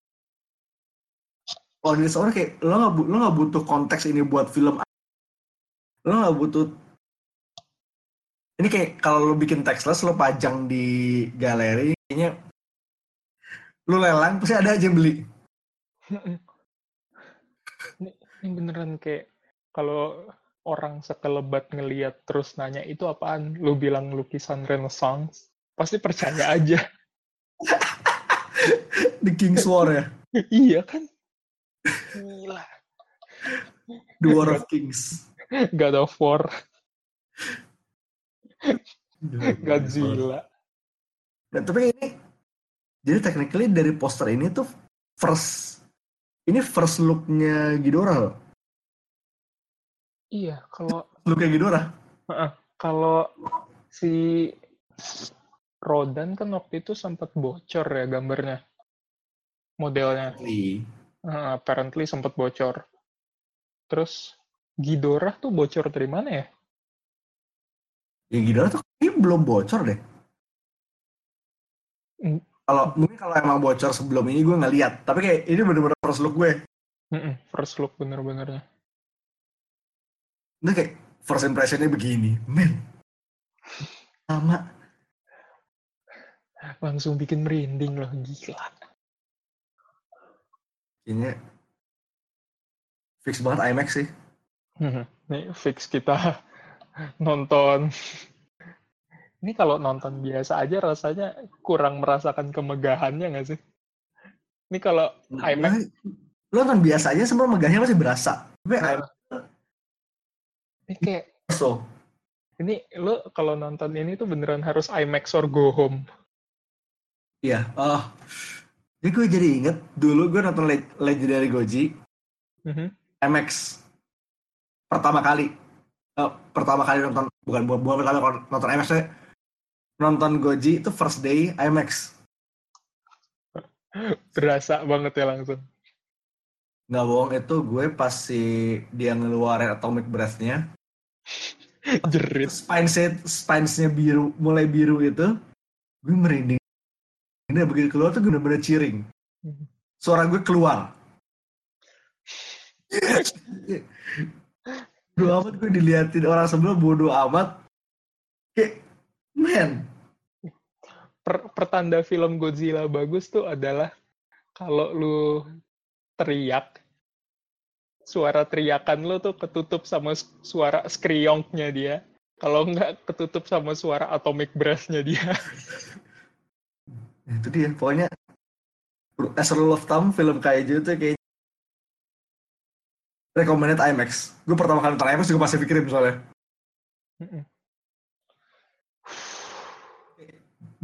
Oh, ini soalnya kayak lo nggak lo nggak butuh konteks ini buat film. Lo nggak butuh. Ini kayak kalau lo bikin textless, lo pajang di galeri, kayaknya lo lelang pasti ada aja yang beli. ini, ini beneran kayak kalau orang sekelebat ngeliat terus nanya itu apaan, lu bilang lukisan Renaissance, pasti percaya aja. The King's War ya. Iya kan? Gila. The War of Kings. God of War. Godzilla. Nah, tapi ini jadi technically dari poster ini tuh first ini first look-nya Ghidorah loh. Iya, kalau Look-nya Ghidorah. uh, kalau si Rodan kan waktu itu sempat bocor ya gambarnya, modelnya. Uh, apparently sempat bocor. Terus Ghidorah tuh bocor dari mana ya? Ya Ghidorah tuh ini belum bocor deh. Mm. Kalau mungkin kalau emang bocor sebelum ini gue nggak lihat. Tapi kayak ini bener-bener first look gue. Mm-mm, first look bener-benernya. Ini kayak first impressionnya begini, men. Sama. Langsung bikin merinding loh, gila. Kayaknya fix banget IMAX sih. Nih fix kita nonton. Ini kalau nonton biasa aja rasanya kurang merasakan kemegahannya nggak sih? Ini kalau Nah, IMAX, lo nonton biasa aja semua megahnya masih berasa. Tapi nah, IMAX ini kayak so. ini lo kalau nonton ini tuh beneran harus IMAX or go home. Iya. Oh. Jadi gue jadi inget dulu gue nonton Legendary Goji Mm-hmm. IMAX pertama kali. Uh, pertama kali nonton bukan bukan, bukan pertama kali nonton IMAX, nonton Goji itu first day IMAX. Berasa banget ya langsung. Nggak bohong, itu gue pas si dia ngeluarin Atomic Breath-nya. Jerit. Spines-nya, spines-nya biru, mulai biru itu, gue merinding. Ini begitu keluar tuh gue bener-bener cheering. Suara gue keluar. Bodo amat gue diliatin orang sebelah, bodo amat. Kayak, man. Per, pertanda film Godzilla bagus tuh adalah kalau lu teriak, suara teriakan lu tuh ketutup sama suara skriongnya dia. Kalau nggak ketutup sama suara atomic breath-nya dia. Itu dia, pokoknya as a rule of thumb, film kaiju tuh kayak recommended IMAX. Gue pertama kali nonton IMAX juga pasti pikirin soalnya.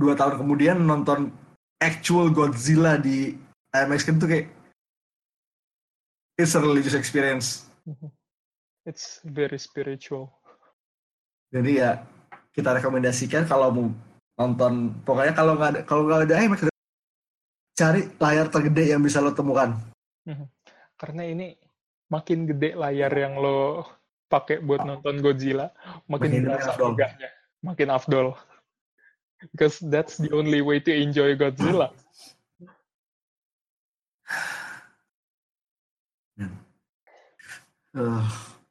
dua tahun kemudian nonton actual Godzilla di I M A X kan tuh kayak it's a religious experience. It's very spiritual. Jadi ya kita rekomendasikan kalau mau nonton, pokoknya kalau nggak ada kalau nggak ada I M A X, cari layar tergede yang bisa lo temukan. Karena ini makin gede layar yang lo pakai buat nonton Godzilla, makin berasa megahnya, makin afdol. Because that's the only way to enjoy Godzilla. Uh.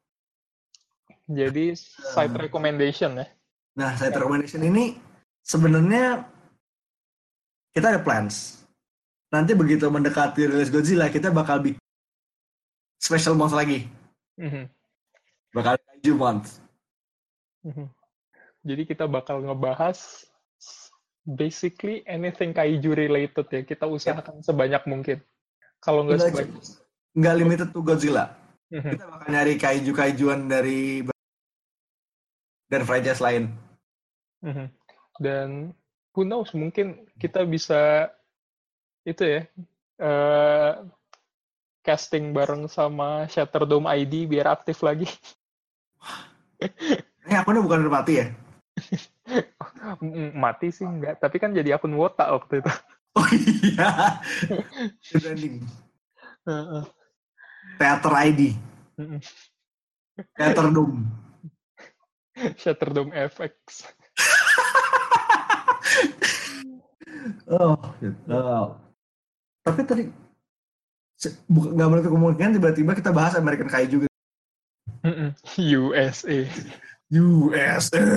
Jadi side recommendation ya. Nah, side recommendation ini sebenarnya kita ada plans. Nanti begitu mendekati rilis Godzilla, kita bakal bikin special month lagi. Mm-hmm. Bakal Kaiju month. Mm-hmm. Jadi kita bakal ngebahas basically anything kaiju related ya. Kita usahakan yep. sebanyak mungkin. Kalau nggak sebanyak. Nggak limited to Godzilla. Mm-hmm. Kita bakal nyari kaiju-kaijuan dari dan franchise lain. Mm-hmm. Dan who knows, mungkin kita bisa itu ya uh, casting bareng sama Shatterdome I D biar aktif lagi. Eh, akunnya bukan udah mati ya? Mati sih enggak, tapi kan jadi akun Wota waktu itu. Oh iya. Branding. Uh-uh. Theater I D. Uh-uh. Shatterdome. Shatterdome F X. oh, oh. Tapi tadi nggak boleh kemungkinan tiba-tiba kita bahas American Kaiju gitu. U S A. U S A.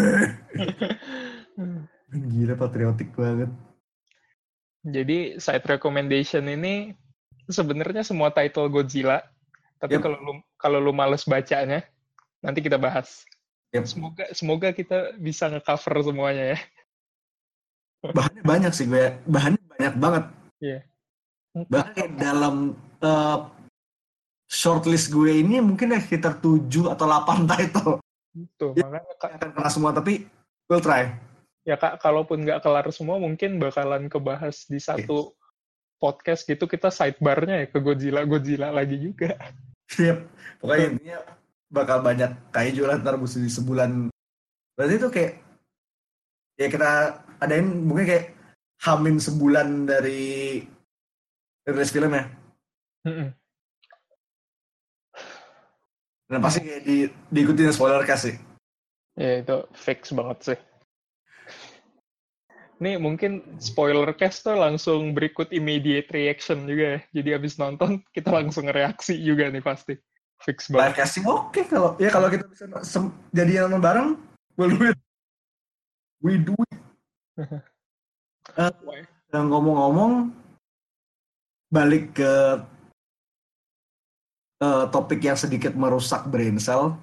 Gila, patriotik banget. Jadi side recommendation ini sebenarnya semua title Godzilla, tapi yep. kalau lu kalau lu males bacanya, nanti kita bahas. Yep. Semoga semoga kita bisa nge-cover semuanya ya. Bahannya banyak sih gue, bahannya banyak banget. Iya. Yeah. Bahkan dalam uh, shortlist gue ini mungkin sekitar tujuh atau delapan title. Tuh, ya, makanya Kak, akan kelar semua, tapi we'll try. Ya Kak, kalaupun nggak kelar semua, mungkin bakalan kebahas di satu okay. podcast gitu, kita sidebar-nya ya ke Godzilla-Godzilla lagi juga. Yep. Pokoknya intinya bakal banyak kaiju lah ntar di sebulan. Berarti itu kayak, ya kita adain mungkin kayak hamin sebulan dari rilis film ya. Mm-mm. Dan pasti kayak di, diikutin spoiler cast sih. Ya itu fix banget sih. Nih mungkin spoiler cast tuh langsung berikut immediate reaction juga ya. Jadi abis nonton kita langsung reaksi juga nih pasti. Fix banget. Live casting oke okay, kalau ya kalau kita bisa sem- jadi nonton bareng, we'll do it. We do it. uh, dan ngomong-ngomong balik ke Uh, topik yang sedikit merusak brain cell.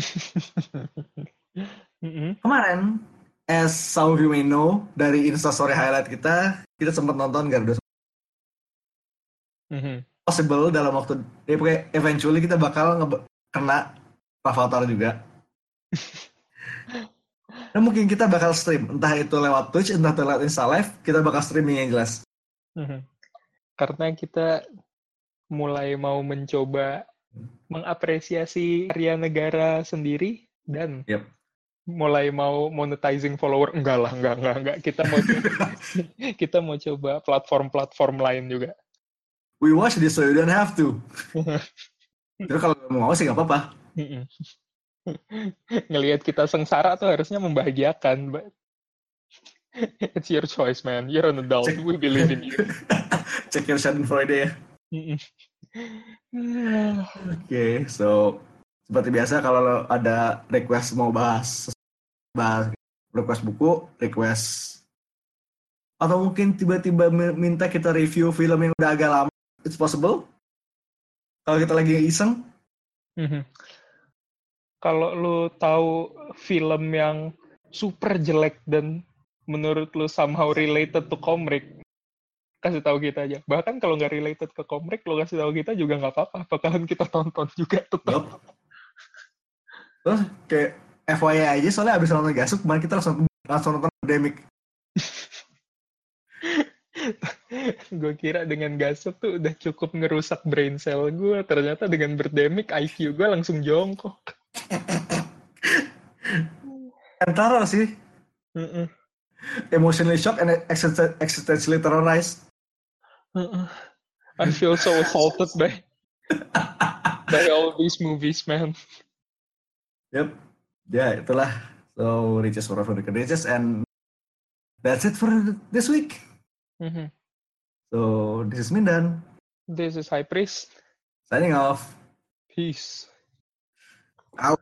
mm-hmm. Kemarin, as some of you may know, dari Instastory highlight kita, kita sempat nonton Garuda. Mm-hmm. Possible dalam waktu, ya pokoknya eventually kita bakal nge- kena Avatar juga. Dan mungkin kita bakal stream, entah itu lewat Twitch, entah itu lewat Instalive, kita bakal streaming yang jelas. Mm-hmm. Karena kita mulai mau mencoba mengapresiasi karya negara sendiri dan yep. mulai mau monetizing follower. Enggak lah, enggak, enggak, enggak. Kita mau coba, kita mau coba platform-platform lain juga. We watch this so you don't have to. Terus kalau mau sih nggak apa-apa. Ngelihat kita sengsara tuh harusnya membahagiakan. But it's your choice, man. You're an adult. Check. We believe in you. Check your Schadenfreude Friday ya. Oke, okay, so seperti biasa kalau ada request mau bahas, bahas request buku, request atau mungkin tiba-tiba minta kita review film yang udah agak lama, it's possible. Kalau kita lagi iseng. Mm-hmm. Kalau lu tahu film yang super jelek dan menurut lu somehow related to komik, kasih tahu kita aja. Bahkan kalau nggak related ke komik, lo kasih tahu kita juga nggak apa-apa. Bakalan kita tonton juga tetap. Yep. Terus kayak F Y I aja, soalnya abis nonton Gasuk, kemarin kita langsung langsung nonton Pandemic. Gue kira dengan gasot tuh udah cukup ngerusak brain cell gue. Ternyata dengan berdemik I Q gue langsung jongkok. Antara sih. Uh-uh. Emotionally shocked and existen- existentially terrorized. Uh-uh. I feel so assaulted by by all these movies, man. Yep. Ya, itulah. So, Riches for the Riches, and that's it for this week. Mm-hmm. So, this is Mindan. This is High Priest. Signing off. Peace. Out.